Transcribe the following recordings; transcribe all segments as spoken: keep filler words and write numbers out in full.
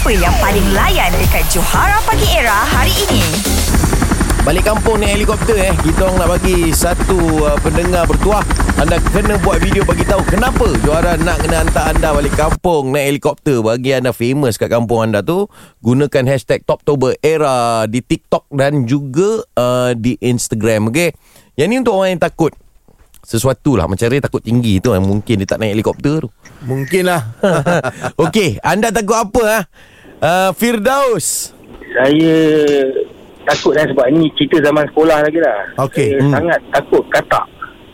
Siapa yang paling layan dekat Johara Pagi Era hari ini? Balik kampung naik helikopter eh. Kita orang nak bagi satu uh, pendengar bertuah. Anda kena buat video bagi tahu kenapa Johara nak kena hantar anda balik kampung naik helikopter. Bagi anda famous kat kampung anda tu, gunakan hashtag Toptober Era di TikTok dan juga uh, di Instagram. Okey. Yang ni untuk orang yang takut sesuatu lah. Macam Ray takut tinggi tu, yang mungkin dia tak naik helikopter tu. Mungkin lah. Okey, anda takut apa ah? Uh, Firdaus. Saya takut lah sebab ni cerita zaman sekolah lagi lah. Okey. Saya Hmm. sangat takut katak.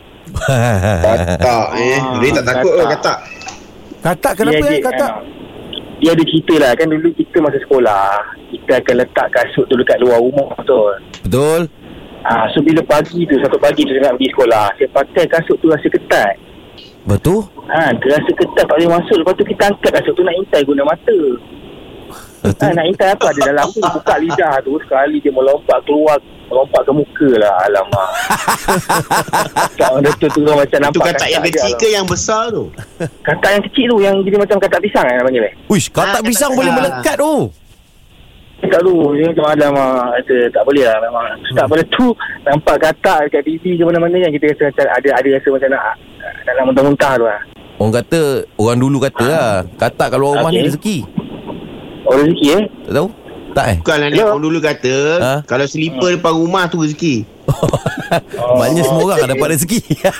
Katak eh Dia tak takut ke katak? Katak kenapa dia, ya katak? uh, dia ada cerita lah. Kan dulu kita masa sekolah, kita akan letak kasut tu dekat luar rumah tu. Betul. Ah, so bila pagi tu, satu pagi tu saya nak pergi sekolah, saya pakai kasut tu rasa ketat. Betul. Ha, dia rasa ketat tak boleh masuk. Lepas tu kita angkat kasut tu nak intai guna mata. Ha, nak intai apa ada dalam tu, buka lidah tu, sekali dia melompat keluar, melompat ke muka lah. Alamak. Tak ada tu tu macam nampak. Itu katak yang kecil ke yang besar tu? Katak yang kecil tu, yang jadi macam katak pisang kan nak panggil eh? Uish, katak Ah, pisang katak boleh pisang. melekat tu. Tak tu, dia macam alamak. Kata tak boleh lah memang. Tak boleh tu, nampak katak dekat T V ke mana-mana yang kita rasa macam ada, ada rasa macam nak, nak, nak muntah-muntah tu lah. Orang kata, orang dulu kata lah, katak kat luar rumah Okey. ni rezeki. Oh rezeki eh? Tak tahu? Tak eh? Bukanlah ni, Hello? orang dulu kata Ha? kalau selipar depan rumah tu rezeki. Maknanya semua orang dapat rezeki.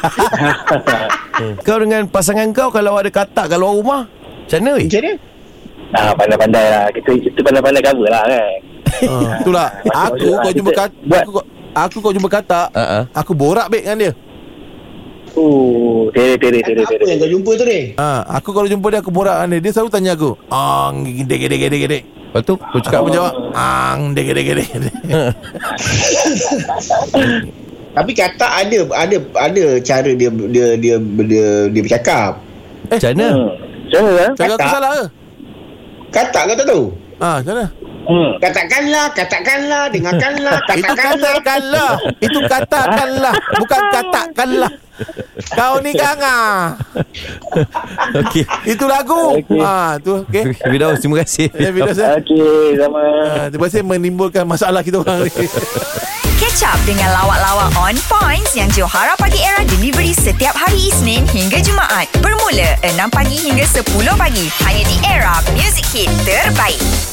Kau dengan pasangan kau kalau ada katak kat luar rumah, macam mana weh? Macam mana? Ah, pandai-pandai lah. Kita, kita pandai-pandai cover lah kan. Ah, itulah. Aku Maksud- kau jumpa kita katak. buat- Aku, kau- aku kau jumpa katak. Uh-uh. Aku borak baik dengan dia. Oh, tere, tere, tere, Apa tere. yang kau jumpa tu ni? Ah, aku kalau jumpa dia aku borak dengan dia. Dia selalu tanya aku, "Ang gede gede gede gede." Lepas tu, kau cakap Aku apa? jawab, "Ang gede gede gede." Tapi katak ada ada ada cara dia dia dia dia, dia bercakap. Macam mana? Hmm. Macam mana lah? Cakap aku Katak. salah ke? Katak kau tak tahu? Ah, macam mana? Hmm. Katakanlah, katakanlah, dengarkanlah, Itu katakanlah. katakanlah. Itu katakanlah, bukan katakanlah. Kau ni kanga. Okey. Itu lagu. Okey. Ah, tu okey. Firdaus, terima kasih. Ya, Firdaus, eh. Okey, sama. Ah, terima kasih menimbulkan masalah kita orang ni. Catch up dengan lawak-lawak on points yang Johara Pagi Era delivery setiap hari Isnin hingga Jumaat. Bermula enam pagi hingga sepuluh pagi. Hanya di Era Music Hit terbaik.